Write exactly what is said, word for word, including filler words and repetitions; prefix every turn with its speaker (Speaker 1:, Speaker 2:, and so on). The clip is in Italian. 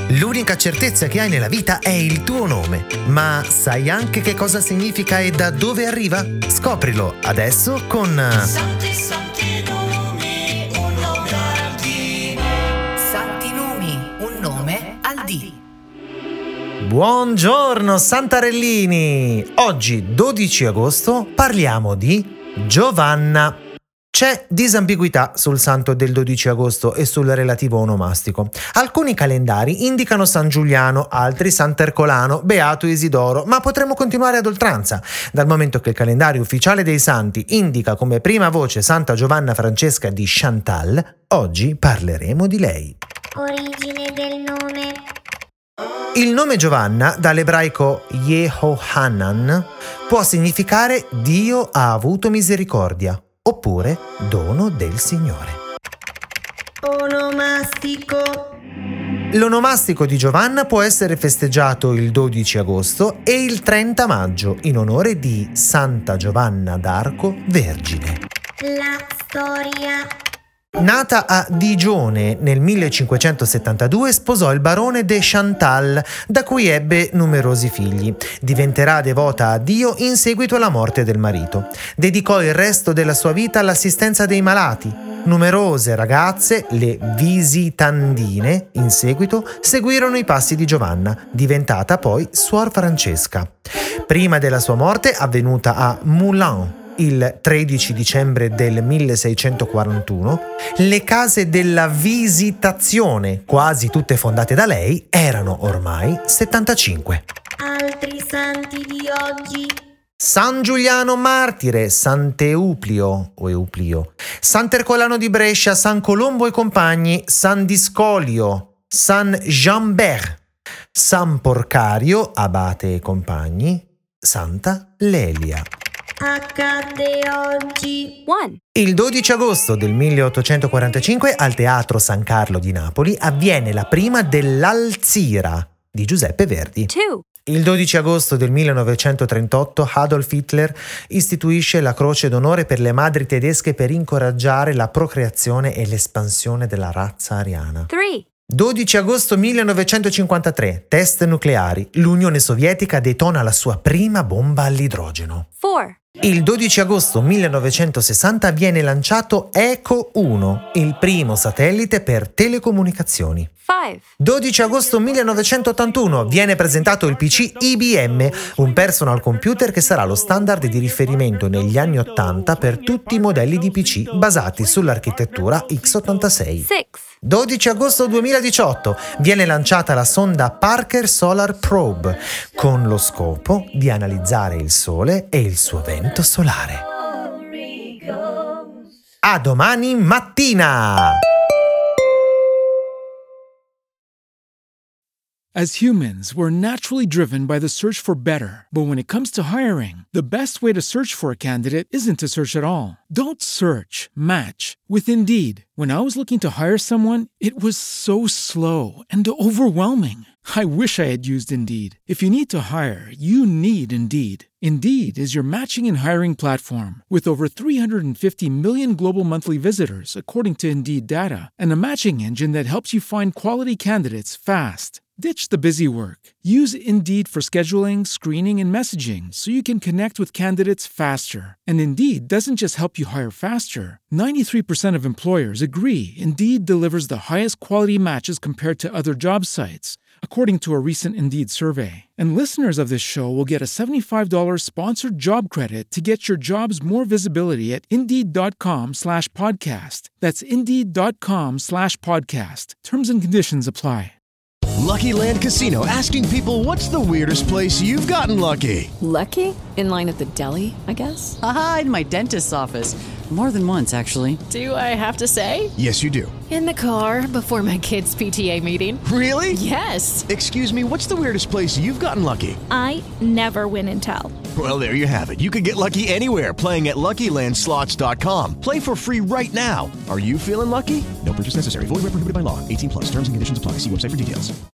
Speaker 1: L'unica certezza che hai nella vita è il tuo nome. Ma sai anche che cosa significa e da dove arriva? Scoprilo adesso con
Speaker 2: Santi, santi nomi, un nome al D.
Speaker 3: Santi nomi, un nome al D.
Speaker 1: Buongiorno Santarellini! Oggi, dodici agosto, parliamo di Giovanna. C'è disambiguità sul santo del dodici agosto e sul relativo onomastico. Alcuni calendari indicano San Giuliano, altri Sant'Ercolano, Beato Isidoro, ma potremmo continuare ad oltranza. Dal momento che il calendario ufficiale dei santi indica come prima voce Santa Giovanna Francesca di Chantal, oggi parleremo di lei.
Speaker 4: Origine del nome.
Speaker 1: Il nome Giovanna, dall'ebraico Yehohanan, può significare Dio ha avuto misericordia, oppure dono del Signore.
Speaker 4: Onomastico.
Speaker 1: L'onomastico di Giovanna può essere festeggiato il dodici agosto e il trenta maggio in onore di Santa Giovanna d'Arco Vergine.
Speaker 4: La storia.
Speaker 1: Nata a Digione nel millecinquecentosettantadue, sposò il barone de Chantal, da cui ebbe numerosi figli. Diventerà devota a Dio in seguito alla morte del marito. Dedicò il resto della sua vita all'assistenza dei malati. Numerose ragazze, le visitandine, in seguito seguirono i passi di Giovanna, diventata poi Suor Francesca. Prima della sua morte, avvenuta a Moulins, il tredici dicembre del milleseicentoquarantuno, le case della Visitazione, quasi tutte fondate da lei, erano ormai settantacinque.
Speaker 4: Altri santi di oggi.
Speaker 1: San Giuliano Martire, Sant'Euplio o Euplio, Sant'Ercolano di Brescia, San Colombo e compagni, San Discolio, San Jean-Bert, San Porcario, abate e compagni, Santa Lelia.
Speaker 4: Accade oggi.
Speaker 5: One.
Speaker 1: Il dodici agosto del milleottocentoquarantacinque al Teatro San Carlo di Napoli avviene la prima dell'Alzira di Giuseppe Verdi.
Speaker 5: Two.
Speaker 1: Il dodici agosto del millenovecentotrentotto Adolf Hitler istituisce la Croce d'Onore per le madri tedesche per incoraggiare la procreazione e l'espansione della razza ariana.
Speaker 5: Three.
Speaker 1: dodici agosto millenovecentocinquantatré, test nucleari. L'Unione Sovietica detona la sua prima bomba all'idrogeno.
Speaker 5: Four.
Speaker 1: Il dodici agosto millenovecentosessanta viene lanciato Eco uno, il primo satellite per telecomunicazioni.
Speaker 5: Five.
Speaker 1: dodici agosto millenovecentottantuno viene presentato il P C I B M, un personal computer che sarà lo standard di riferimento negli anni ottanta per tutti i modelli di P C basati sull'architettura x ottantasei.
Speaker 5: Six.
Speaker 1: dodici agosto duemiladiciotto viene lanciata la sonda Parker Solar Probe con lo scopo di analizzare il Sole e il suo vento solare. A domani mattina!
Speaker 6: As humans, we're naturally driven by the search for better. But when it comes to hiring, the best way to search for a candidate isn't to search at all. Don't search, match with Indeed. When I was looking to hire someone, it was so slow and overwhelming. I wish I had used Indeed. If you need to hire, you need Indeed. Indeed is your matching and hiring platform with over three hundred fifty million global monthly visitors, according to Indeed data, and a matching engine that helps you find quality candidates fast. Ditch the busy work. Use Indeed for scheduling, screening, and messaging so you can connect with candidates faster. And Indeed doesn't just help you hire faster. ninety-three percent of employers agree Indeed delivers the highest quality matches compared to other job sites, according to a recent Indeed survey. And listeners of this show will get a seventy-five dollars sponsored job credit to get your jobs more visibility at Indeed.com slash podcast. That's Indeed.com slash podcast. Terms and conditions apply.
Speaker 7: Lucky Land Casino, asking people, what's the weirdest place you've gotten lucky?
Speaker 8: Lucky? In line at the deli, I guess?
Speaker 9: Aha, in my dentist's office. More than once, actually.
Speaker 8: Do I have to say?
Speaker 7: Yes, you do.
Speaker 8: In the car before my kids' P T A meeting.
Speaker 7: Really?
Speaker 8: Yes.
Speaker 7: Excuse me, what's the weirdest place you've gotten lucky?
Speaker 10: I never win and tell.
Speaker 7: Well, there you have it. You can get lucky anywhere, playing at Lucky Land Slots dot com. Play for free right now. Are you feeling lucky? No purchase necessary. Void where prohibited by law. eighteen plus. Terms and conditions apply. See website for details.